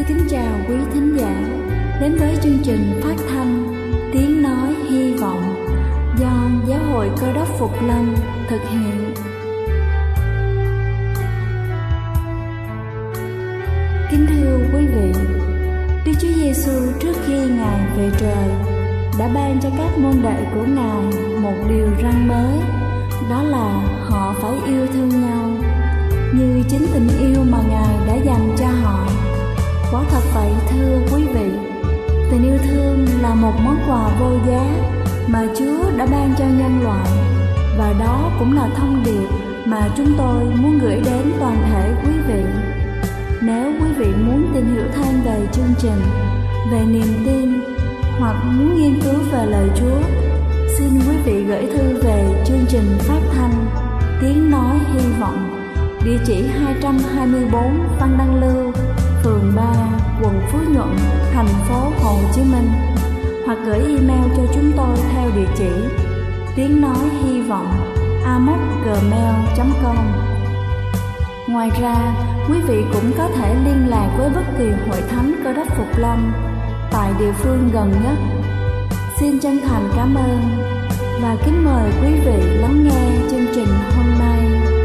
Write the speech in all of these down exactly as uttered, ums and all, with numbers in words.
kính chào quý thính giả đến với chương trình phát thanh Tiếng Nói Hy Vọng do Giáo hội Cơ Đốc Phục Lâm thực hiện. Kính thưa quý vị, Đức Chúa Giêsu trước khi Ngài về trời đã ban cho các môn đệ của Ngài một điều răn mới, đó là họ phải yêu thương nhau như chính tình yêu mà Ngài đã dành cho họ. Quả thật vậy thưa quý vị, tình yêu thương là một món quà vô giá mà Chúa đã ban cho nhân loại, và đó cũng là thông điệp mà chúng tôi muốn gửi đến toàn thể quý vị. Nếu quý vị muốn tìm hiểu thêm về chương trình, về niềm tin hoặc muốn nghiên cứu về lời Chúa, xin quý vị gửi thư về chương trình phát thanh Tiếng Nói Hy Vọng, địa chỉ hai trăm hai mươi bốn Phan Đăng Lưu, phường ba, quận Phú Nhuận, thành phố Hồ Chí Minh, hoặc gửi email cho chúng tôi theo địa chỉ tiếng nói hy vọng a m o c gmail chấm com. Ngoài ra, quý vị cũng có thể liên lạc với bất kỳ hội thánh Cơ Đốc Phục Lâm tại địa phương gần nhất. Xin chân thành cảm ơn và kính mời quý vị lắng nghe chương trình hôm nay.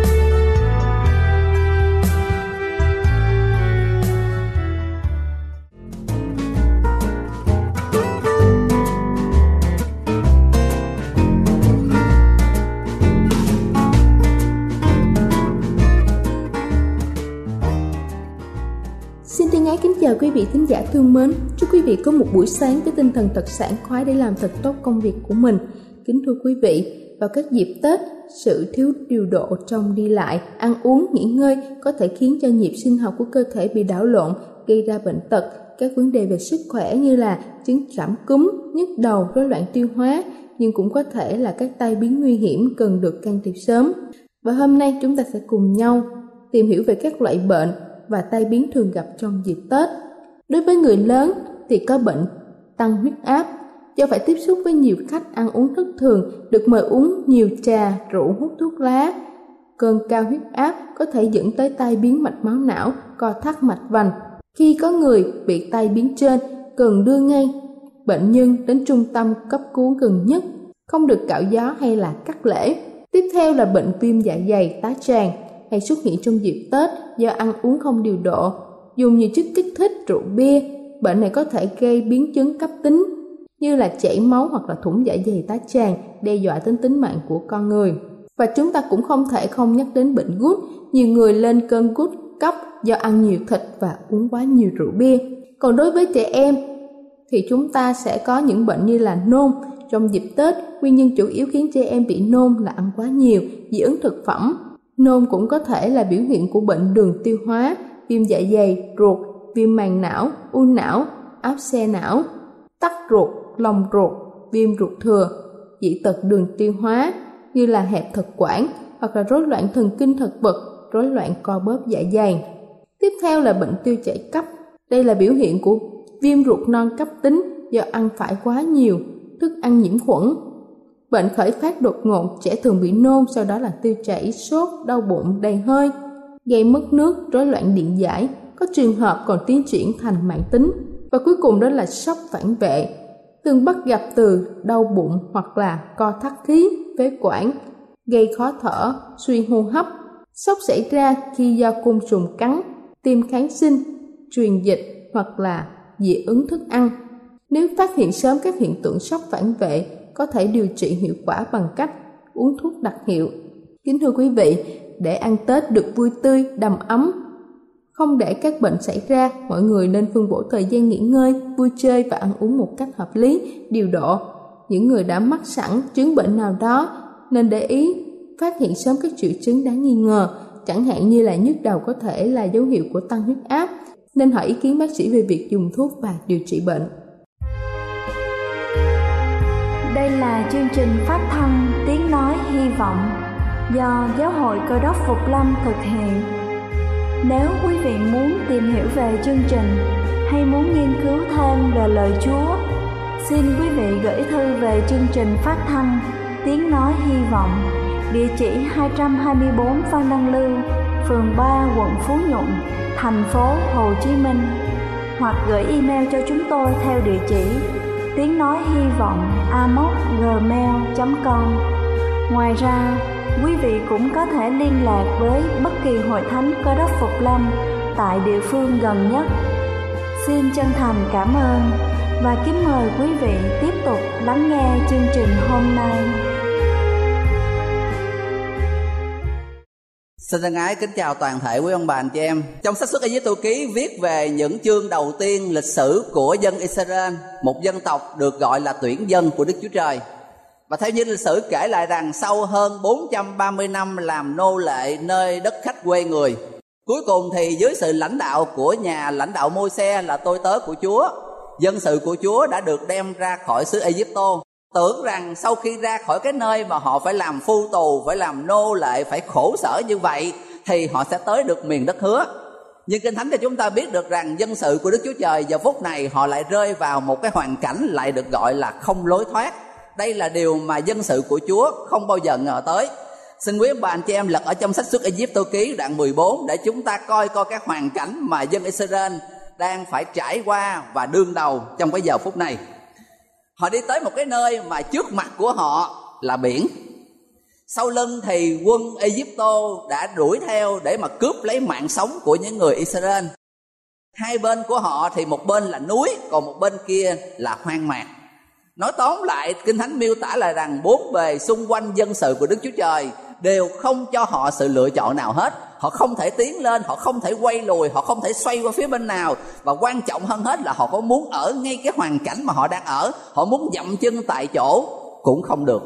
Kính chào quý vị thính giả thương mến, chúc quý vị có một buổi sáng với tinh thần thật sảng khoái để làm thật tốt công việc của mình. Kính thưa quý vị, vào các dịp Tết, sự thiếu điều độ trong đi lại, ăn uống, nghỉ ngơi có thể khiến cho nhịp sinh học của cơ thể bị đảo lộn, gây ra bệnh tật, các vấn đề về sức khỏe như là chứng cảm cúm, nhức đầu, rối loạn tiêu hóa, nhưng cũng có thể là các tai biến nguy hiểm cần được can thiệp sớm. Và hôm nay chúng ta sẽ cùng nhau tìm hiểu về các loại bệnh và tai biến thường gặp trong dịp Tết. Đối với người lớn thì có bệnh tăng huyết áp, do phải tiếp xúc với nhiều khách ăn uống thất thường, được mời uống nhiều trà, rượu, hút thuốc lá. Cơn cao huyết áp có thể dẫn tới tai biến mạch máu não, co thắt mạch vành. Khi có người bị tai biến trên, cần đưa ngay bệnh nhân đến trung tâm cấp cứu gần nhất, không được cạo gió hay là cắt lễ. Tiếp theo là bệnh viêm dạ dày, tá tràng, hay xuất hiện trong dịp Tết do ăn uống không điều độ, dùng nhiều chất kích thích, rượu bia. Bệnh này có thể gây biến chứng cấp tính như là chảy máu hoặc là thủng dạ dày, tá tràng, đe dọa đến tính mạng của con người. Và chúng ta cũng không thể không nhắc đến bệnh gút. Nhiều người lên cơn gút cấp do ăn nhiều thịt và uống quá nhiều rượu bia. Còn đối với trẻ em thì chúng ta sẽ có những bệnh như là nôn. Trong dịp Tết, nguyên nhân chủ yếu khiến trẻ em bị nôn là ăn quá nhiều, dị ứng thực phẩm. Nôn cũng có thể là biểu hiện của bệnh đường tiêu hóa, viêm dạ dày, ruột, viêm màng não, u não, áp xe não, tắc ruột, lòng ruột, viêm ruột thừa, dị tật đường tiêu hóa như là hẹp thực quản hoặc là rối loạn thần kinh thực vật, rối loạn co bóp dạ dày. Tiếp theo là bệnh tiêu chảy cấp. Đây là biểu hiện của viêm ruột non cấp tính do ăn phải quá nhiều thức ăn nhiễm khuẩn. Bệnh khởi phát đột ngột, trẻ thường bị nôn, sau đó là tiêu chảy, sốt, đau bụng, đầy hơi, gây mất nước, rối loạn điện giải, có trường hợp còn tiến triển thành mãn tính. Và cuối cùng đó là sốc phản vệ, thường bắt gặp từ đau bụng hoặc là co thắt khí, phế quản, gây khó thở, suy hô hấp. Sốc xảy ra khi do côn trùng cắn, tiêm kháng sinh, truyền dịch hoặc là dị ứng thức ăn. Nếu phát hiện sớm các hiện tượng sốc phản vệ, có thể điều trị hiệu quả bằng cách uống thuốc đặc hiệu. Kính thưa quý vị, để ăn Tết được vui tươi, đầm ấm, không để các bệnh xảy ra, mọi người nên phân bổ thời gian nghỉ ngơi, vui chơi và ăn uống một cách hợp lý, điều độ. Những người đã mắc sẵn chứng bệnh nào đó nên để ý phát hiện sớm các triệu chứng đáng nghi ngờ, chẳng hạn như là nhức đầu có thể là dấu hiệu của tăng huyết áp, nên hỏi ý kiến bác sĩ về việc dùng thuốc và điều trị bệnh. Đây là chương trình phát thanh Tiếng Nói Hy Vọng do Giáo hội Cơ Đốc Phục Lâm thực hiện. Nếu quý vị muốn tìm hiểu về chương trình hay muốn nghiên cứu thêm về lời Chúa, xin quý vị gửi thư về chương trình phát thanh Tiếng Nói Hy Vọng, địa chỉ hai trăm hai mươi bốn Phan Đăng Lưu, phường ba, quận Phú Nhuận, thành phố Hồ Chí Minh, hoặc gửi email cho chúng tôi theo địa chỉ tiếng nói hy vọng a m o s gmail chấm com. Ngoài ra, quý vị cũng có thể liên lạc với bất kỳ hội thánh Cơ Đốc Phục Lâm tại địa phương gần nhất. Xin chân thành cảm ơn và kính mời quý vị tiếp tục lắng nghe chương trình hôm nay. Xin thân ái kính chào toàn thể quý ông bà anh chị em. Trong sách Xuất Ai-cập ký viết về những chương đầu tiên lịch sử của dân Israel, một dân tộc được gọi là tuyển dân của Đức Chúa Trời. Và theo như lịch sử kể lại rằng sau hơn bốn trăm ba mươi năm làm nô lệ nơi đất khách quê người, cuối cùng thì dưới sự lãnh đạo của nhà lãnh đạo Môi-se là tôi tớ của Chúa, dân sự của Chúa đã được đem ra khỏi xứ Ai-cập. Tưởng rằng sau khi ra khỏi cái nơi mà họ phải làm phu tù, phải làm nô lệ, phải khổ sở như vậy thì họ sẽ tới được miền đất hứa. Nhưng Kinh Thánh cho chúng ta biết được rằng dân sự của Đức Chúa Trời giờ phút này họ lại rơi vào một cái hoàn cảnh lại được gọi là không lối thoát. Đây là điều mà dân sự của Chúa không bao giờ ngờ tới. Xin quý ông bà anh chị em lật ở trong sách Xuất Ai-cập ký đoạn mười bốn để chúng ta coi coi cái hoàn cảnh mà dân Israel đang phải trải qua và đương đầu trong cái giờ phút này. Họ đi tới một cái nơi mà trước mặt của họ là biển. Sau lưng thì quân Ai-cập đã đuổi theo để mà cướp lấy mạng sống của những người Israel. Hai bên của họ thì một bên là núi, còn một bên kia là hoang mạc. Nói tóm lại, Kinh Thánh miêu tả là rằng bốn bề xung quanh dân sự của Đức Chúa Trời đều không cho họ sự lựa chọn nào hết. Họ không thể tiến lên, họ không thể quay lùi, họ không thể xoay qua phía bên nào. Và quan trọng hơn hết là họ có muốn ở ngay cái hoàn cảnh mà họ đang ở, họ muốn dậm chân tại chỗ cũng không được.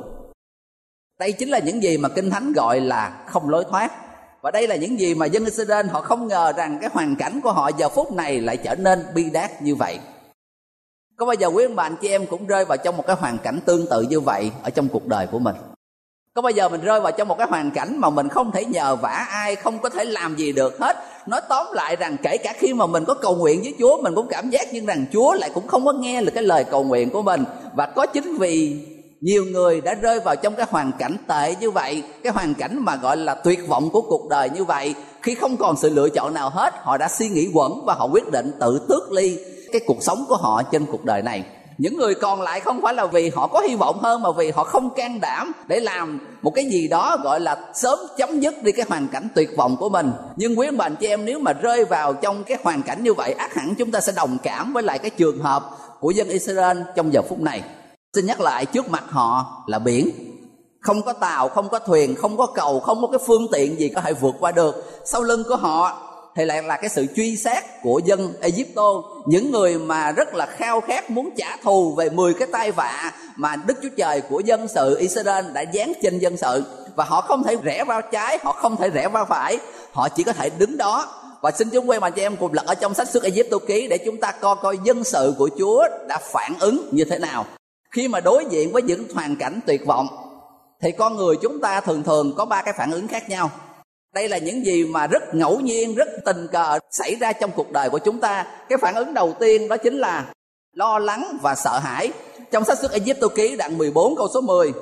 Đây chính là những gì mà Kinh Thánh gọi là không lối thoát. Và đây là những gì mà dân Israel họ không ngờ rằng cái hoàn cảnh của họ giờ phút này lại trở nên bi đát như vậy. Có bao giờ quý ông bà anh chị em cũng rơi vào trong một cái hoàn cảnh tương tự như vậy ở trong cuộc đời của mình? Có bao giờ mình rơi vào trong một cái hoàn cảnh mà mình không thể nhờ vả ai, không có thể làm gì được hết? Nói tóm lại rằng kể cả khi mà mình có cầu nguyện với Chúa, mình cũng cảm giác như rằng Chúa lại cũng không có nghe được cái lời cầu nguyện của mình. Và có chính vì nhiều người đã rơi vào trong cái hoàn cảnh tệ như vậy, cái hoàn cảnh mà gọi là tuyệt vọng của cuộc đời như vậy, khi không còn sự lựa chọn nào hết, họ đã suy nghĩ quẩn và họ quyết định tự tước ly cái cuộc sống của họ trên cuộc đời này. Những người còn lại không phải là vì họ có hy vọng hơn, mà vì họ không can đảm để làm một cái gì đó gọi là sớm chấm dứt đi cái hoàn cảnh tuyệt vọng của mình. Nhưng quý ông bà anh chị em, nếu mà rơi vào trong cái hoàn cảnh như vậy, ắt hẳn chúng ta sẽ đồng cảm với lại cái trường hợp của dân Israel trong giờ phút này. Xin nhắc lại, trước mặt họ là biển, không có tàu, không có thuyền, không có cầu, không có cái phương tiện gì có thể vượt qua được. Sau lưng của họ thì lại là cái sự truy sát của dân Ai-cập, những người mà rất là khao khát muốn trả thù về mười cái tai vạ mà Đức Chúa Trời của dân sự Israel đã giáng trên dân sự. Và họ không thể rẽ vào trái, họ không thể rẽ vào phải, họ chỉ có thể đứng đó. Và xin chúng quay mà cho em cùng lật ở trong sách Xuất Ai-cập ký để chúng ta coi coi dân sự của Chúa đã phản ứng như thế nào. Khi mà đối diện với những hoàn cảnh tuyệt vọng thì con người chúng ta thường thường có ba cái phản ứng khác nhau. Đây là những gì mà rất ngẫu nhiên, rất tình cờ xảy ra trong cuộc đời của chúng ta. Cái phản ứng đầu tiên đó chính là lo lắng và sợ hãi. Trong sách Xuất Ai-cập ký đoạn mười bốn câu số mười: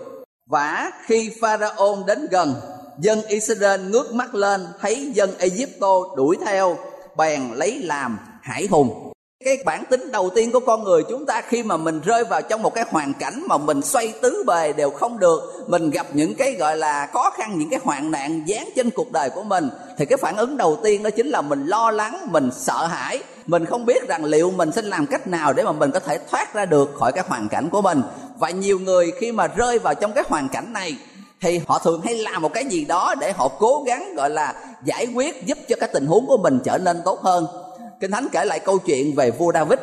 Vả khi Pharaoh đến gần, dân Israel ngước mắt lên thấy dân Ai-cập đuổi theo, bèn lấy làm hãi hùng. Cái bản tính đầu tiên của con người chúng ta khi mà mình rơi vào trong một cái hoàn cảnh mà mình xoay tứ bề đều không được, mình gặp những cái gọi là khó khăn, những cái hoạn nạn giáng trên cuộc đời của mình, thì cái phản ứng đầu tiên đó chính là mình lo lắng, mình sợ hãi. Mình không biết rằng liệu mình sẽ làm cách nào để mà mình có thể thoát ra được khỏi cái hoàn cảnh của mình. Và nhiều người khi mà rơi vào trong cái hoàn cảnh này thì họ thường hay làm một cái gì đó để họ cố gắng gọi là giải quyết, giúp cho cái tình huống của mình trở nên tốt hơn. Kinh Thánh kể lại câu chuyện về vua David,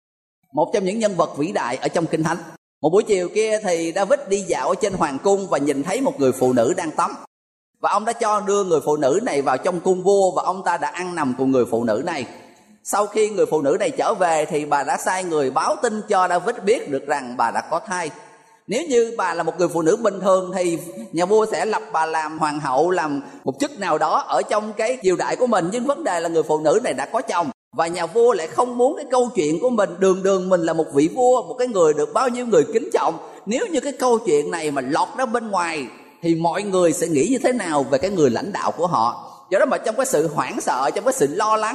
một trong những nhân vật vĩ đại ở trong Kinh Thánh. Một buổi chiều kia thì David đi dạo ở trên hoàng cung và nhìn thấy một người phụ nữ đang tắm. Và ông đã cho đưa người phụ nữ này vào trong cung vua và ông ta đã ăn nằm cùng người phụ nữ này. Sau khi người phụ nữ này trở về thì bà đã sai người báo tin cho David biết được rằng bà đã có thai. Nếu như bà là một người phụ nữ bình thường thì nhà vua sẽ lập bà làm hoàng hậu, làm một chức nào đó ở trong cái triều đại của mình. Nhưng vấn đề là người phụ nữ này đã có chồng. Và nhà vua lại không muốn cái câu chuyện của mình, đường đường mình là một vị vua, một cái người được bao nhiêu người kính trọng, nếu như cái câu chuyện này mà lọt ra bên ngoài thì mọi người sẽ nghĩ như thế nào về cái người lãnh đạo của họ. Do đó mà trong cái sự hoảng sợ, trong cái sự lo lắng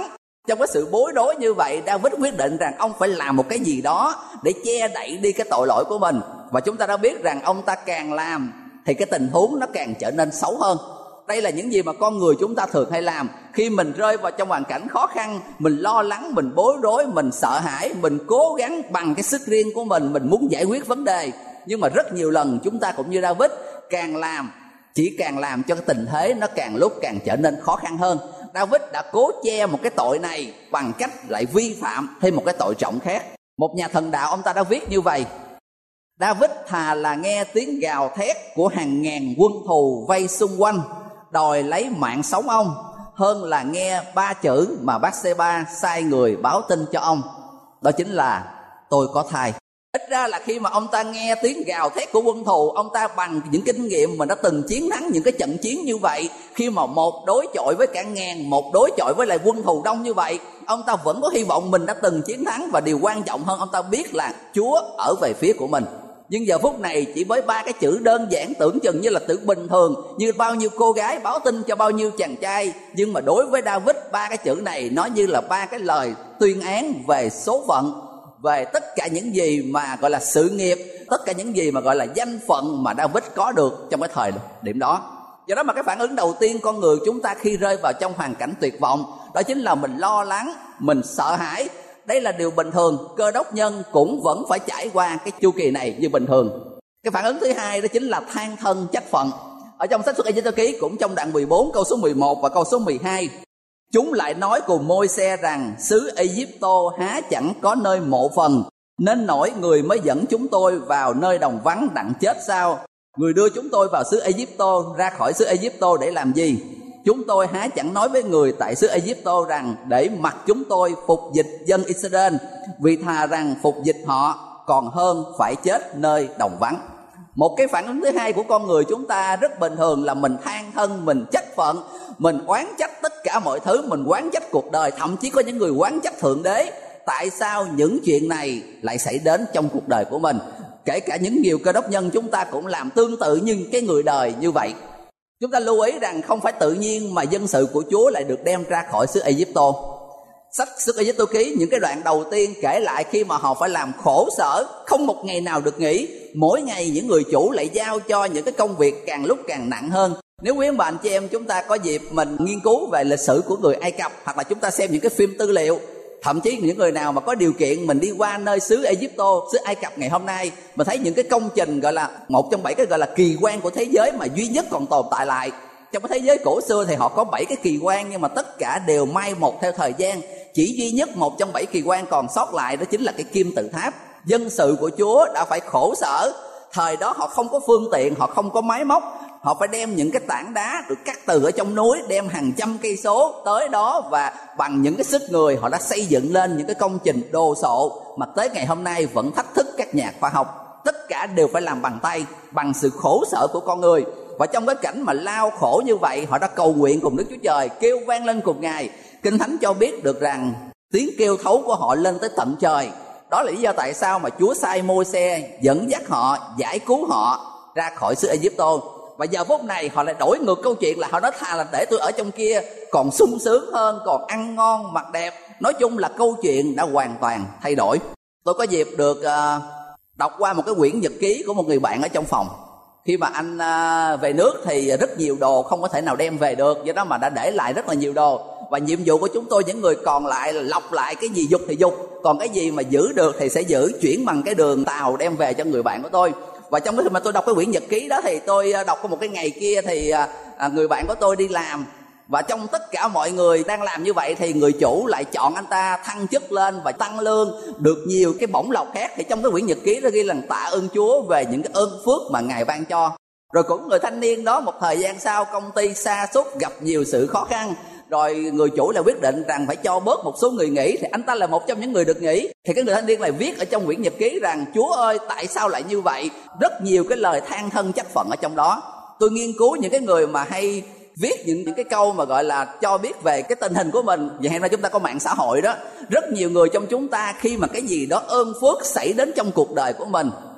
Trong cái sự bối rối như vậy, David quyết định rằng ông phải làm một cái gì đó để che đậy đi cái tội lỗi của mình. Và chúng ta đã biết rằng ông ta càng làm thì cái tình huống nó càng trở nên xấu hơn. Đây là những gì mà con người chúng ta thường hay làm. Khi mình rơi vào trong hoàn cảnh khó khăn, mình lo lắng, mình bối rối, mình sợ hãi, mình cố gắng bằng cái sức riêng của mình, mình muốn giải quyết vấn đề. Nhưng mà rất nhiều lần chúng ta cũng như David, càng làm, chỉ càng làm cho cái tình thế nó càng lúc càng trở nên khó khăn hơn. David đã cố che một cái tội này bằng cách lại vi phạm thêm một cái tội trọng khác. Một nhà thần đạo ông ta đã viết như vậy: David thà là nghe tiếng gào thét của hàng ngàn quân thù vây xung quanh đòi lấy mạng sống ông, hơn là nghe ba chữ mà Bathsheba sai người báo tin cho ông, đó chính là tôi có thai. Ít ra là khi mà ông ta nghe tiếng gào thét của quân thù, ông ta bằng những kinh nghiệm mà đã từng chiến thắng những cái trận chiến như vậy, khi mà một đối chọi với cả ngàn, một đối chọi với lại quân thù đông như vậy, ông ta vẫn có hy vọng mình đã từng chiến thắng. Và điều quan trọng hơn, ông ta biết là Chúa ở về phía của mình. Nhưng giờ phút này chỉ với ba cái chữ đơn giản tưởng chừng như là từ bình thường, như bao nhiêu cô gái báo tin cho bao nhiêu chàng trai, nhưng mà đối với David, ba cái chữ này nó như là ba cái lời tuyên án về số phận, về tất cả những gì mà gọi là sự nghiệp, tất cả những gì mà gọi là danh phận mà David có được trong cái thời điểm đó. Do đó mà cái phản ứng đầu tiên con người chúng ta khi rơi vào trong hoàn cảnh tuyệt vọng, đó chính là mình lo lắng, mình sợ hãi. Đây là điều bình thường, Cơ Đốc nhân cũng vẫn phải trải qua cái chu kỳ này như bình thường. Cái phản ứng thứ hai đó chính là than thân trách phận. Ở trong sách Xuất Ê-díp-tô ký cũng trong đoạn mười bốn câu số mười một và câu số mười hai, chúng lại nói cùng Môi-se rằng xứ Ê-díp-tô há chẳng có nơi mộ phần, nên nổi người mới dẫn chúng tôi vào nơi đồng vắng đặng chết sao? Người đưa chúng tôi vào xứ Ê-díp-tô, ra khỏi xứ Ê-díp-tô để làm gì? Chúng tôi há chẳng nói với người tại xứ Ê-díp-tô rằng để mặc chúng tôi phục dịch dân Israel, vì thà rằng phục dịch họ còn hơn phải chết nơi đồng vắng. Một cái phản ứng thứ hai của con người chúng ta rất bình thường là mình than thân, mình trách phận, mình oán trách tất cả mọi thứ, mình oán trách cuộc đời, thậm chí có những người oán trách Thượng Đế. Tại sao những chuyện này lại xảy đến trong cuộc đời của mình? Kể cả những nhiều Cơ Đốc nhân chúng ta cũng làm tương tự như cái người đời như vậy. Chúng ta lưu ý rằng không phải tự nhiên mà dân sự của Chúa lại được đem ra khỏi xứ Ê-díp-tô. Sách Xuất Ê-díp-tô ký những cái đoạn đầu tiên kể lại khi mà họ phải làm khổ sở, không một ngày nào được nghỉ. Mỗi ngày những người chủ lại giao cho những cái công việc càng lúc càng nặng hơn. Nếu quý ông bà anh chị em chúng ta có dịp mình nghiên cứu về lịch sử của người Ai Cập, hoặc là chúng ta xem những cái phim tư liệu, thậm chí những người nào mà có điều kiện mình đi qua nơi xứ Ê-díp-tô, xứ Ai Cập ngày hôm nay, mà thấy những cái công trình gọi là một trong bảy cái gọi là kỳ quan của thế giới mà duy nhất còn tồn tại lại. Trong cái thế giới cổ xưa thì họ có bảy cái kỳ quan, nhưng mà tất cả đều mai một theo thời gian. Chỉ duy nhất một trong bảy kỳ quan còn sót lại, đó chính là cái kim tự tháp. Dân sự của Chúa đã phải khổ sở. Thời đó họ không có phương tiện, họ không có máy móc, họ phải đem những cái tảng đá được cắt từ ở trong núi, đem hàng trăm cây số tới đó, và bằng những cái sức người họ đã xây dựng lên những cái công trình đồ sộ mà tới ngày hôm nay vẫn thách thức các nhà khoa học. Tất cả đều phải làm bằng tay, bằng sự khổ sở của con người. Và trong cái cảnh mà lao khổ như vậy, họ đã cầu nguyện cùng Đức Chúa Trời, kêu vang lên cùng Ngài. Kinh Thánh cho biết được rằng tiếng kêu thấu của họ lên tới tận trời. Đó là lý do tại sao mà Chúa sai Môi-se dẫn dắt họ, giải cứu họ ra khỏi xứ Ê-díp-tô. Và giờ phút này họ lại đổi ngược câu chuyện, là họ nói thà là để tôi ở trong kia còn sung sướng hơn, còn ăn ngon mặc đẹp. Nói chung là câu chuyện đã hoàn toàn thay đổi. Tôi có dịp được uh, đọc qua một cái quyển nhật ký của một người bạn ở trong phòng. Khi mà anh uh, về nước thì rất nhiều đồ không có thể nào đem về được, do đó mà đã để lại rất là nhiều đồ. Và nhiệm vụ của chúng tôi những người còn lại là lọc lại cái gì dục thì dục, còn cái gì mà giữ được thì sẽ giữ, chuyển bằng cái đường tàu đem về cho người bạn của tôi. Và trong cái khi mà tôi đọc cái quyển nhật ký đó thì tôi đọc có một cái ngày kia thì à, người bạn của tôi đi làm, và trong tất cả mọi người đang làm như vậy thì người chủ lại chọn anh ta thăng chức lên và tăng lương, được nhiều cái bổng lộc khác. Thì trong cái quyển nhật ký đó ghi là tạ ơn Chúa về những cái ơn phước mà Ngài ban cho. Rồi cũng người thanh niên đó một thời gian sau công ty sa sút, gặp nhiều sự khó khăn, rồi người chủ lại quyết định rằng phải cho bớt một số người nghỉ, thì anh ta là một trong những người được nghỉ. Thì cái người thanh niên lại viết ở trong quyển nhật ký rằng Chúa ơi tại sao lại như vậy, rất nhiều cái lời than thân trách phận ở trong đó. Tôi nghiên cứu những cái người mà hay viết những, những cái câu mà gọi là cho biết về cái tình hình của mình. Vậy hiện nay chúng ta có mạng xã hội đó, rất nhiều người trong chúng ta khi mà cái gì đó ơn phước xảy đến trong cuộc đời của mình,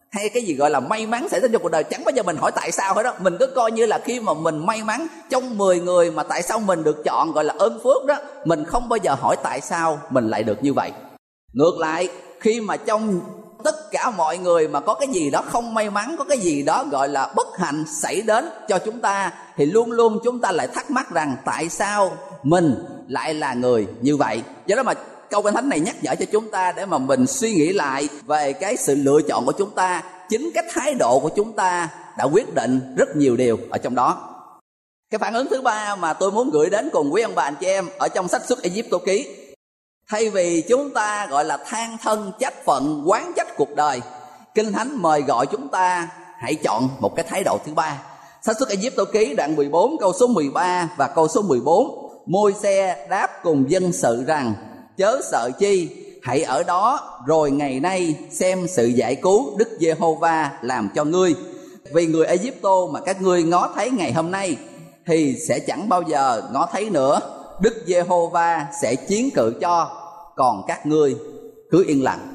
hay cái gì gọi là may mắn xảy đến trong cuộc đời, chẳng bao giờ mình hỏi tại sao hết đó. Mình cứ coi như là khi mà mình may mắn trong mười người mà tại sao mình được chọn gọi là ơn phước đó, mình không bao giờ hỏi tại sao mình lại được như vậy. Ngược lại, khi mà trong tất cả mọi người mà có cái gì đó không may mắn, có cái gì đó gọi là bất hạnh xảy đến cho chúng ta, thì luôn luôn chúng ta lại thắc mắc rằng tại sao mình lại là người như vậy. Do đó mà câu Kinh Thánh này nhắc nhở cho chúng ta để mà mình suy nghĩ lại về cái sự lựa chọn của chúng ta. Chính cái thái độ của chúng ta đã quyết định rất nhiều điều ở trong đó. Cái phản ứng thứ ba mà tôi muốn gửi đến cùng quý ông bà anh chị em ở trong sách Xuất Ai-cập ký, thay vì chúng ta gọi là than thân trách phận, oán trách cuộc đời, Kinh Thánh mời gọi chúng ta hãy chọn một cái thái độ thứ ba. Sách Xuất Ai-cập ký đoạn mười bốn câu số mười ba và câu số mười bốn. Môi-se đáp cùng dân sự rằng: chớ sợ chi, hãy ở đó rồi ngày nay xem sự giải cứu Đức Giê-hô-va làm cho ngươi. Vì người Ai-cập mà các ngươi ngó thấy ngày hôm nay thì sẽ chẳng bao giờ ngó thấy nữa. Đức Giê-hô-va sẽ chiến cự cho, còn các ngươi cứ yên lặng.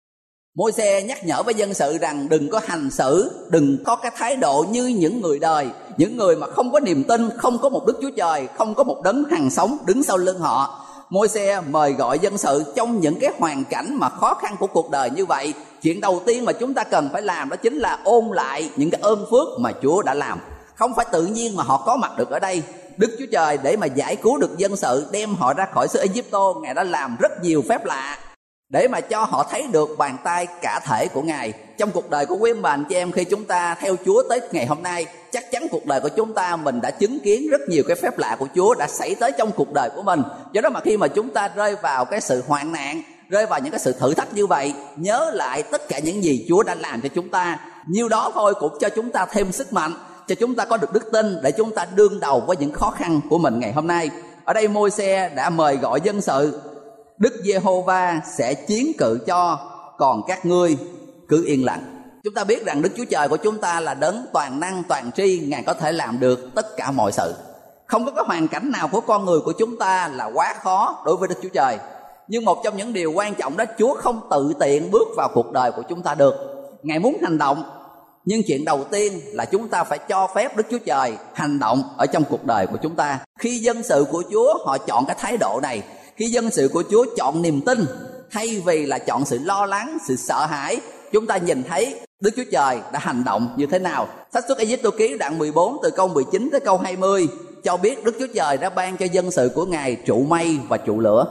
Môi-se nhắc nhở với dân sự rằng đừng có hành xử, đừng có cái thái độ như những người đời, những người mà không có niềm tin, không có một Đức Chúa Trời, không có một đấng hằng sống đứng sau lưng họ. Môi-se mời gọi dân sự trong những cái hoàn cảnh mà khó khăn của cuộc đời như vậy, chuyện đầu tiên mà chúng ta cần phải làm đó chính là ôn lại những cái ơn phước mà Chúa đã làm. Không phải tự nhiên mà họ có mặt được ở đây. Đức Chúa Trời để mà giải cứu được dân sự, đem họ ra khỏi xứ Ai-cập, Ngài đã làm rất nhiều phép lạ để mà cho họ thấy được bàn tay cả thể của Ngài. Trong cuộc đời của quý ông bà anh chị em, khi chúng ta theo Chúa tới ngày hôm nay, chắc chắn cuộc đời của chúng ta mình đã chứng kiến rất nhiều cái phép lạ của Chúa đã xảy tới trong cuộc đời của mình. Do đó mà khi mà chúng ta rơi vào cái sự hoạn nạn, rơi vào những cái sự thử thách như vậy, nhớ lại tất cả những gì Chúa đã làm cho chúng ta, nhiêu đó thôi cũng cho chúng ta thêm sức mạnh, cho chúng ta có được đức tin để chúng ta đương đầu với những khó khăn của mình ngày hôm nay. Ở đây Môi-se đã mời gọi dân sự: Đức Giê-hô-va sẽ chiến cự cho, còn các ngươi cứ yên lặng. Chúng ta biết rằng Đức Chúa Trời của chúng ta là đấng toàn năng toàn tri, Ngài có thể làm được tất cả mọi sự. Không có cái hoàn cảnh nào của con người của chúng ta là quá khó đối với Đức Chúa Trời. Nhưng một trong những điều quan trọng đó, Chúa không tự tiện bước vào cuộc đời của chúng ta được. Ngài muốn hành động, nhưng chuyện đầu tiên là chúng ta phải cho phép Đức Chúa Trời hành động ở trong cuộc đời của chúng ta. Khi dân sự của Chúa họ chọn cái thái độ này, khi dân sự của Chúa chọn niềm tin thay vì là chọn sự lo lắng, sự sợ hãi, chúng ta nhìn thấy Đức Chúa Trời đã hành động như thế nào. Sách Xuất Ai-cập ký đoạn mười bốn từ câu mười chín tới câu hai mươi cho biết Đức Chúa Trời đã ban cho dân sự của Ngài trụ mây và trụ lửa.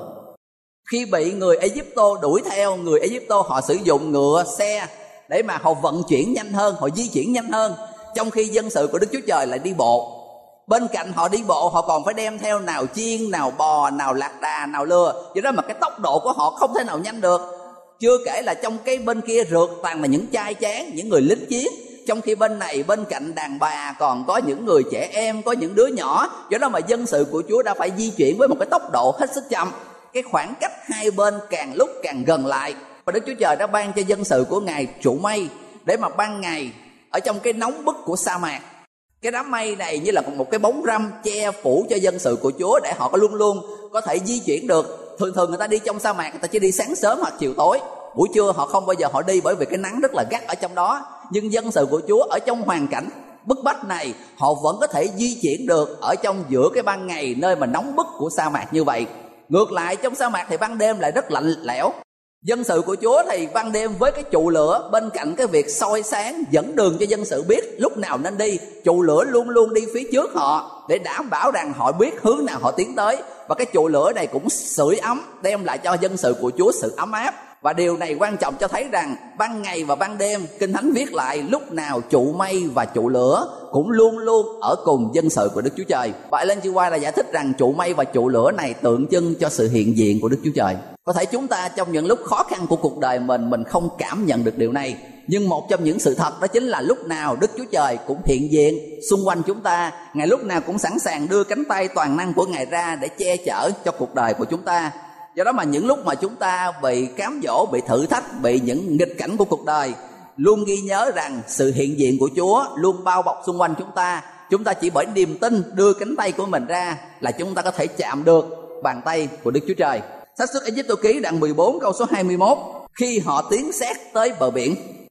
Khi bị người Ai-cập đuổi theo, người Ai-cập họ sử dụng ngựa, xe để mà họ vận chuyển nhanh hơn, họ di chuyển nhanh hơn, trong khi dân sự của Đức Chúa Trời lại đi bộ. Bên cạnh họ đi bộ, họ còn phải đem theo nào chiên, nào bò, nào lạc đà, nào lừa. Do đó mà cái tốc độ của họ không thể nào nhanh được. Chưa kể là trong cái bên kia rượt toàn là những trai tráng, những người lính chiến, trong khi bên này bên cạnh đàn bà còn có những người trẻ em, có những đứa nhỏ. Do đó mà dân sự của Chúa đã phải di chuyển với một cái tốc độ hết sức chậm. Cái khoảng cách hai bên càng lúc càng gần lại. Và Đức Chúa Trời đã ban cho dân sự của Ngài trụ mây để mà ban ngày ở trong cái nóng bức của sa mạc, cái đám mây này như là một cái bóng râm che phủ cho dân sự của Chúa để họ có luôn luôn có thể di chuyển được. Thường thường người ta đi trong sa mạc, người ta chỉ đi sáng sớm hoặc chiều tối, buổi trưa họ không bao giờ họ đi bởi vì cái nắng rất là gắt ở trong đó. Nhưng dân sự của Chúa ở trong hoàn cảnh bức bách này, họ vẫn có thể di chuyển được ở trong giữa cái ban ngày nơi mà nóng bức của sa mạc như vậy. Ngược lại trong sa mạc thì ban đêm lại rất lạnh lẽo. Dân sự của Chúa thì ban đêm với cái trụ lửa bên cạnh cái việc soi sáng dẫn đường cho dân sự biết lúc nào nên đi, trụ lửa luôn luôn đi phía trước họ để đảm bảo rằng họ biết hướng nào họ tiến tới. Và cái trụ lửa này cũng sưởi ấm, đem lại cho dân sự của Chúa sự ấm áp. Và điều này quan trọng cho thấy rằng ban ngày và ban đêm, Kinh Thánh viết lại lúc nào trụ mây và trụ lửa cũng luôn luôn ở cùng dân sự của Đức Chúa Trời. Và Ellen G. White là giải thích rằng trụ mây và trụ lửa này tượng trưng cho sự hiện diện của Đức Chúa Trời. Có thể chúng ta trong những lúc khó khăn của cuộc đời mình, mình không cảm nhận được điều này. Nhưng một trong những sự thật đó chính là lúc nào Đức Chúa Trời cũng hiện diện xung quanh chúng ta. Ngài lúc nào cũng sẵn sàng đưa cánh tay toàn năng của Ngài ra để che chở cho cuộc đời của chúng ta. Do đó mà những lúc mà chúng ta bị cám dỗ, bị thử thách, bị những nghịch cảnh của cuộc đời, luôn ghi nhớ rằng sự hiện diện của Chúa luôn bao bọc xung quanh chúng ta. Chúng ta chỉ bởi niềm tin đưa cánh tay của mình ra là chúng ta có thể chạm được bàn tay của Đức Chúa Trời. Sách Xuất Ai-cập ký đoạn mười bốn câu số hai mươi mốt: khi họ tiến sát tới bờ biển,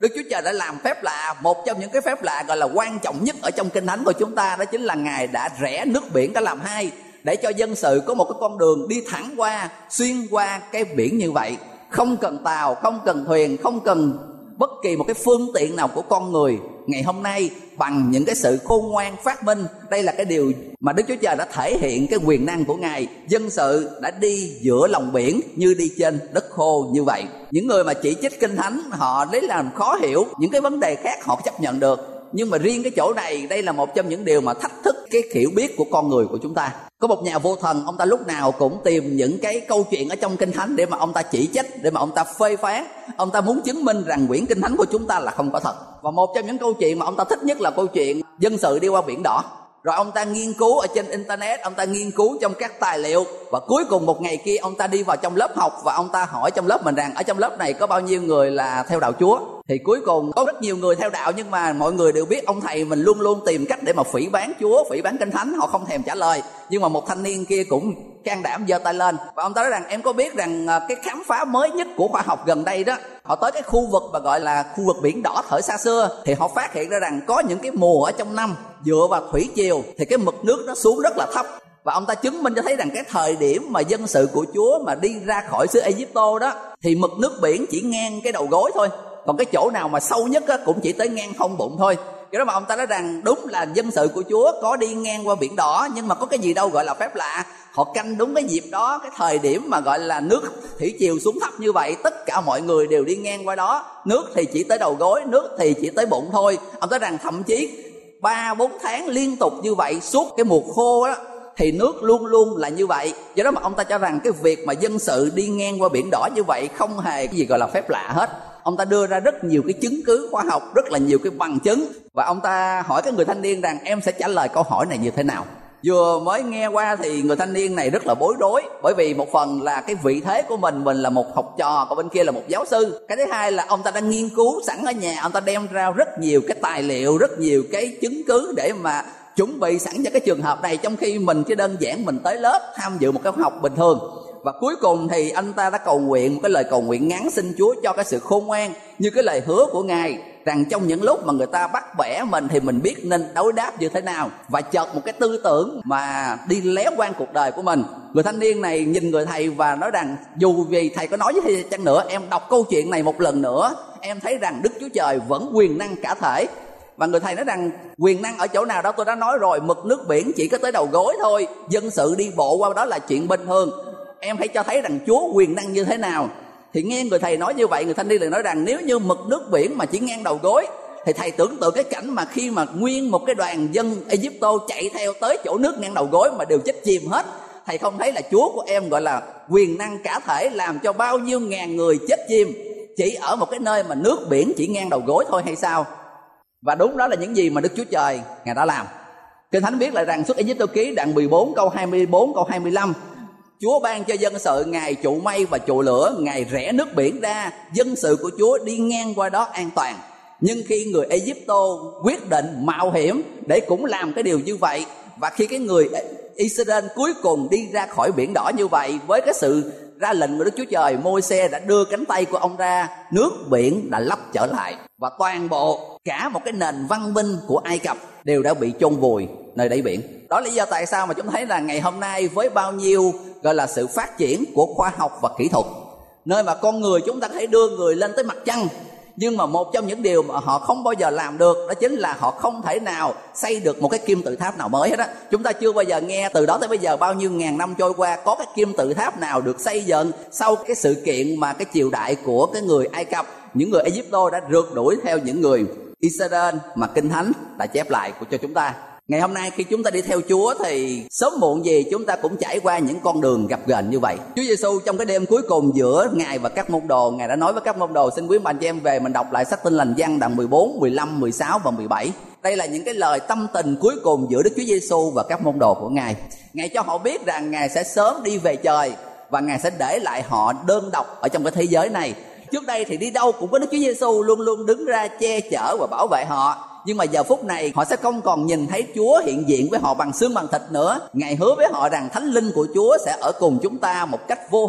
Đức Chúa Trời đã làm phép lạ. Một trong những cái phép lạ gọi là quan trọng nhất ở trong Kinh Thánh của chúng ta, đó chính là Ngài đã rẽ nước biển cả làm hai, để cho dân sự có một cái con đường đi thẳng qua, xuyên qua cái biển như vậy, không cần tàu, không cần thuyền, không cần bất kỳ một cái phương tiện nào của con người. Ngày hôm nay bằng những cái sự khôn ngoan phát minh, đây là cái điều mà Đức Chúa Trời đã thể hiện cái quyền năng của Ngài. Dân sự đã đi giữa lòng biển như đi trên đất khô như vậy. Những người mà chỉ trích Kinh Thánh họ lấy làm khó hiểu, những cái vấn đề khác họ chấp nhận được, nhưng mà riêng cái chỗ này, đây là một trong những điều mà thách thức cái hiểu biết của con người của chúng ta. Có một nhà vô thần, ông ta lúc nào cũng tìm những cái câu chuyện ở trong Kinh Thánh để mà ông ta chỉ trích, để mà ông ta phê phán. Ông ta muốn chứng minh rằng quyển Kinh Thánh của chúng ta là không có thật. Và một trong những câu chuyện mà ông ta thích nhất là câu chuyện dân sự đi qua biển đỏ. Rồi ông ta nghiên cứu ở trên internet, ông ta nghiên cứu trong các tài liệu, và cuối cùng một ngày kia ông ta đi vào trong lớp học và ông ta hỏi trong lớp mình rằng ở trong lớp này có bao nhiêu người là theo đạo Chúa. Thì cuối cùng có rất nhiều người theo đạo, nhưng mà mọi người đều biết ông thầy mình luôn luôn tìm cách để mà phỉ báng Chúa, phỉ báng Kinh Thánh, họ không thèm trả lời. Nhưng mà một thanh niên kia cũng can đảm giơ tay lên và ông ta nói rằng em có biết rằng cái khám phá mới nhất của khoa học gần đây đó, họ tới cái khu vực mà gọi là khu vực biển đỏ thời xa xưa, thì họ phát hiện ra rằng có những cái mùa ở trong năm dựa vào thủy triều thì cái mực nước nó xuống rất là thấp. Và ông ta chứng minh cho thấy rằng cái thời điểm mà dân sự của Chúa mà đi ra khỏi xứ Ai-Cập đó thì mực nước biển chỉ ngang cái đầu gối thôi, còn cái chỗ nào mà sâu nhất á, cũng chỉ tới ngang hông bụng thôi. Cái đó mà ông ta nói rằng đúng là dân sự của Chúa có đi ngang qua biển đỏ, nhưng mà có cái gì đâu gọi là phép lạ. Họ canh đúng cái dịp đó, cái thời điểm mà gọi là nước thủy triều xuống thấp như vậy, tất cả mọi người đều đi ngang qua đó. Nước thì chỉ tới đầu gối, nước thì chỉ tới bụng thôi. Ông ta nói rằng thậm chí ba bốn tháng liên tục như vậy suốt cái mùa khô đó thì nước luôn luôn là như vậy. Do đó mà ông ta cho rằng cái việc mà dân sự đi ngang qua biển đỏ như vậy không hề cái gì gọi là phép lạ hết. Ông ta đưa ra rất nhiều cái chứng cứ khoa học, rất là nhiều cái bằng chứng. Và ông ta hỏi cái người thanh niên rằng em sẽ trả lời câu hỏi này như thế nào. Vừa mới nghe qua thì người thanh niên này rất là bối rối, bởi vì một phần là cái vị thế của mình, mình là một học trò, còn bên kia là một giáo sư. Cái thứ hai là ông ta đang nghiên cứu sẵn ở nhà, ông ta đem ra rất nhiều cái tài liệu, rất nhiều cái chứng cứ để mà chuẩn bị sẵn cho cái trường hợp này, trong khi mình chỉ đơn giản mình tới lớp tham dự một cái học bình thường. Và cuối cùng thì anh ta đã cầu nguyện một cái lời cầu nguyện ngắn xin Chúa cho cái sự khôn ngoan, như cái lời hứa của Ngài rằng trong những lúc mà người ta bắt bẻ mình thì mình biết nên đối đáp như thế nào. Và chợt một cái tư tưởng mà đi léo quan cuộc đời của mình. Người thanh niên này nhìn người thầy và nói rằng dù vì thầy có nói với thầy chăng nữa, em đọc câu chuyện này một lần nữa, em thấy rằng Đức Chúa Trời vẫn quyền năng cả thể. Và người thầy nói rằng quyền năng ở chỗ nào đó tôi đã nói rồi, mực nước biển chỉ có tới đầu gối thôi, dân sự đi bộ qua đó là chuyện bình thường. Em hãy cho thấy rằng Chúa quyền năng như thế nào. Thì nghe người thầy nói như vậy, người thanh niên lại nói rằng nếu như mực nước biển mà chỉ ngang đầu gối thì thầy tưởng tượng cái cảnh mà khi mà nguyên một cái đoàn dân Ai-Cập chạy theo tới chỗ nước ngang đầu gối mà đều chết chìm hết. Thầy không thấy là Chúa của em gọi là quyền năng cả thể, làm cho bao nhiêu ngàn người chết chìm chỉ ở một cái nơi mà nước biển chỉ ngang đầu gối thôi hay sao? Và đúng đó là những gì mà Đức Chúa Trời Ngài đã làm. Kinh Thánh viết lại rằng Xuất Ai-Cập ký đoạn mười bốn câu hai mươi bốn câu hai mươi lăm, Chúa ban cho dân sự Ngài trụ mây và trụ lửa, Ngài rẽ nước biển ra, dân sự của Chúa đi ngang qua đó an toàn. Nhưng khi người Ai-Cập quyết định mạo hiểm để cũng làm cái điều như vậy, và khi cái người Israel cuối cùng đi ra khỏi biển đỏ như vậy, với cái sự ra lệnh của Đức Chúa Trời, Môi-se đã đưa cánh tay của ông ra, nước biển đã lấp trở lại, và toàn bộ cả một cái nền văn minh của Ai Cập đều đã bị chôn vùi nơi đáy biển. Đó là lý do tại sao mà chúng thấy là ngày hôm nay với bao nhiêu gọi là sự phát triển của khoa học và kỹ thuật, nơi mà con người chúng ta có thể đưa người lên tới mặt trăng, nhưng mà một trong những điều mà họ không bao giờ làm được đó chính là họ không thể nào xây được một cái kim tự tháp nào mới hết á. Chúng ta chưa bao giờ nghe từ đó tới bây giờ, bao nhiêu ngàn năm trôi qua, có cái kim tự tháp nào được xây dựng sau cái sự kiện mà cái triều đại của cái người Ai Cập, những người Ai-Cập đã rượt đuổi theo những người Israel mà Kinh Thánh đã chép lại của cho chúng ta. Ngày hôm nay khi chúng ta đi theo Chúa thì sớm muộn gì chúng ta cũng trải qua những con đường gập ghềnh như vậy. Chúa Giêsu trong cái đêm cuối cùng giữa Ngài và các môn đồ, Ngài đã nói với các môn đồ, xin quý bạn chị em về mình đọc lại sách Tin Lành Giăng đoạn mười bốn, mười lăm, mười sáu và mười bảy. Đây là những cái lời tâm tình cuối cùng giữa Đức Chúa Giêsu và các môn đồ của Ngài. Ngài cho họ biết rằng Ngài sẽ sớm đi về trời và Ngài sẽ để lại họ đơn độc ở trong cái thế giới này. Trước đây thì đi đâu cũng có Đức Chúa Giêsu luôn luôn đứng ra che chở và bảo vệ họ. Nhưng mà giờ phút này họ sẽ không còn nhìn thấy Chúa hiện diện với họ bằng xương bằng thịt nữa. Ngài hứa với họ rằng Thánh Linh của Chúa sẽ ở cùng chúng ta một cách vô hình.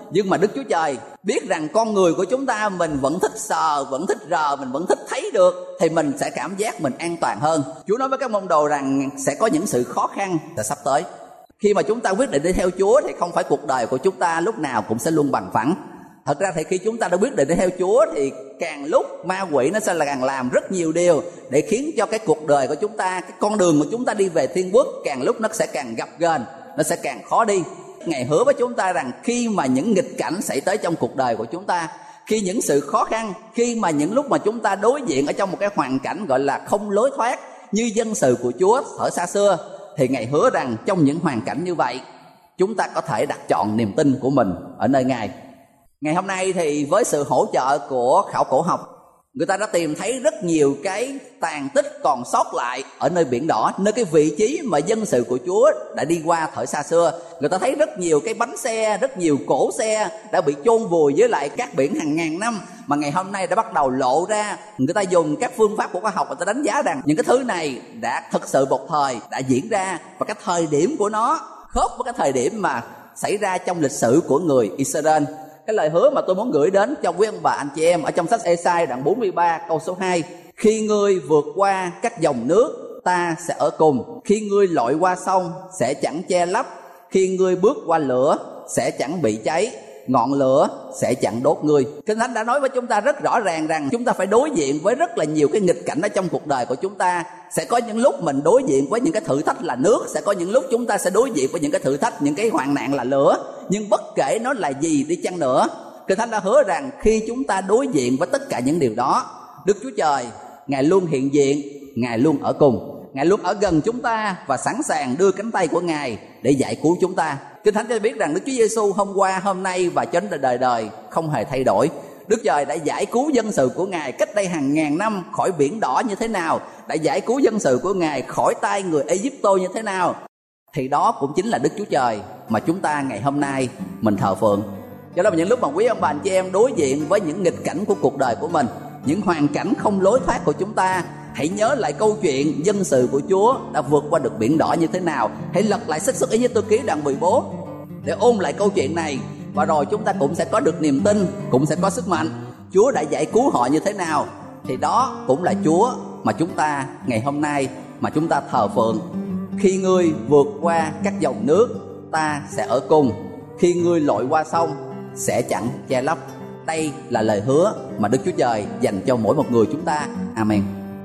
Nhưng mà Đức Chúa Trời biết rằng con người của chúng ta mình vẫn thích sờ, vẫn thích rờ, mình vẫn thích thấy được, thì mình sẽ cảm giác mình an toàn hơn. Chúa nói với các môn đồ rằng sẽ có những sự khó khăn sẽ sắp tới. Khi mà chúng ta quyết định đi theo Chúa thì không phải cuộc đời của chúng ta lúc nào cũng sẽ luôn bằng phẳng. Thật ra thì khi chúng ta đã quyết định đi theo Chúa thì càng lúc ma quỷ nó sẽ là càng làm rất nhiều điều để khiến cho cái cuộc đời của chúng ta, cái con đường của chúng ta đi về thiên quốc càng lúc nó sẽ càng gập ghềnh, nó sẽ càng khó đi. Ngài hứa với chúng ta rằng khi mà những nghịch cảnh xảy tới trong cuộc đời của chúng ta, khi những sự khó khăn, khi mà những lúc mà chúng ta đối diện ở trong một cái hoàn cảnh gọi là không lối thoát như dân sự của Chúa ở xa xưa, thì Ngài hứa rằng trong những hoàn cảnh như vậy chúng ta có thể đặt chọn niềm tin của mình ở nơi Ngài. Ngày hôm nay thì với sự hỗ trợ của khảo cổ học, người ta đã tìm thấy rất nhiều cái tàn tích còn sót lại ở nơi Biển Đỏ, nơi cái vị trí mà dân sự của Chúa đã đi qua thời xa xưa. Người ta thấy rất nhiều cái bánh xe, rất nhiều cỗ xe đã bị chôn vùi với lại cát biển hàng ngàn năm, mà ngày hôm nay đã bắt đầu lộ ra. Người ta dùng các phương pháp của khoa học, người ta đánh giá rằng những cái thứ này đã thực sự một thời đã diễn ra, và cái thời điểm của nó khớp với cái thời điểm mà xảy ra trong lịch sử của người Israel. Cái lời hứa mà tôi muốn gửi đến cho quý ông bà anh chị em ở trong sách Ê-sai đoạn bốn mươi ba câu số hai: khi ngươi vượt qua các dòng nước, ta sẽ ở cùng. Khi ngươi lội qua sông, sẽ chẳng che lấp. Khi ngươi bước qua lửa, sẽ chẳng bị cháy. Ngọn lửa sẽ chẳng đốt ngươi. Kinh Thánh đã nói với chúng ta rất rõ ràng rằng chúng ta phải đối diện với rất là nhiều cái nghịch cảnh ở trong cuộc đời của chúng ta. Sẽ có những lúc mình đối diện với những cái thử thách là nước, sẽ có những lúc chúng ta sẽ đối diện với những cái thử thách, những cái hoạn nạn là lửa. Nhưng bất kể nó là gì đi chăng nữa, Kinh Thánh đã hứa rằng khi chúng ta đối diện với tất cả những điều đó, Đức Chúa Trời, Ngài luôn hiện diện, Ngài luôn ở cùng, Ngài luôn ở gần chúng ta và sẵn sàng đưa cánh tay của Ngài để giải cứu chúng ta. Kinh Thánh cho biết rằng Đức Chúa Giêsu hôm qua, hôm nay và cho đến đời đời không hề thay đổi. Đức Trời đã giải cứu dân sự của Ngài cách đây hàng ngàn năm khỏi Biển Đỏ như thế nào, đã giải cứu dân sự của Ngài khỏi tay người Ê-díp-tô như thế nào, thì đó cũng chính là Đức Chúa Trời mà chúng ta ngày hôm nay mình thờ phượng. Cho nên những lúc mà quý ông bà anh chị em đối diện với những nghịch cảnh của cuộc đời của mình, những hoàn cảnh không lối thoát của chúng ta, hãy nhớ lại câu chuyện dân sự của Chúa đã vượt qua được Biển Đỏ như thế nào. Hãy lật lại sách Xuất Ê-díp-tô ký đoạn mười bốn để ôn lại câu chuyện này, và rồi chúng ta cũng sẽ có được niềm tin, cũng sẽ có sức mạnh. Chúa đã giải cứu họ như thế nào, thì đó cũng là Chúa mà chúng ta ngày hôm nay mà chúng ta thờ phượng. Khi ngươi vượt qua các dòng nước, ta sẽ ở cùng. Khi ngươi lội qua sông, sẽ chẳng che lấp. Đây là lời hứa mà Đức Chúa Trời dành cho mỗi một người chúng ta. Amen.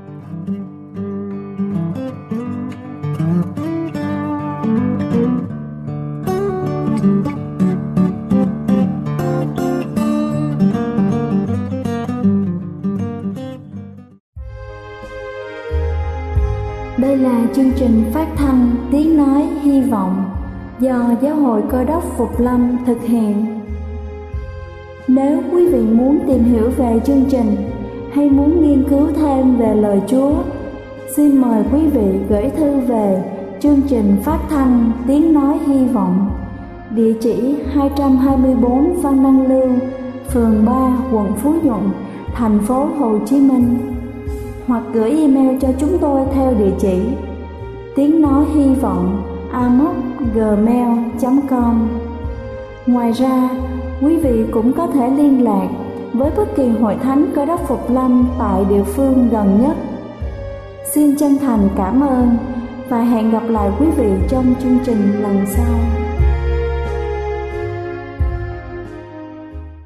Đây là chương trình phát thanh Tiếng Nói Hy Vọng do Giáo hội Cơ đốc Phục Lâm thực hiện. Nếu quý vị muốn tìm hiểu về chương trình hay muốn nghiên cứu thêm về lời Chúa, xin mời quý vị gửi thư về chương trình phát thanh Tiếng Nói Hy Vọng, địa chỉ hai trăm hai mươi bốn Phan Đăng Lưu, phường ba, quận Phú Nhuận, thành phố Hồ Chí Minh, hoặc gửi email cho chúng tôi theo địa chỉ tiếng nói hy vọng a m o c gmail chấm com. Ngoài ra, quý vị cũng có thể liên lạc với bất kỳ hội thánh Cơ đốc Phục Lâm tại địa phương gần nhất. Xin chân thành cảm ơn và hẹn gặp lại quý vị trong chương trình lần sau.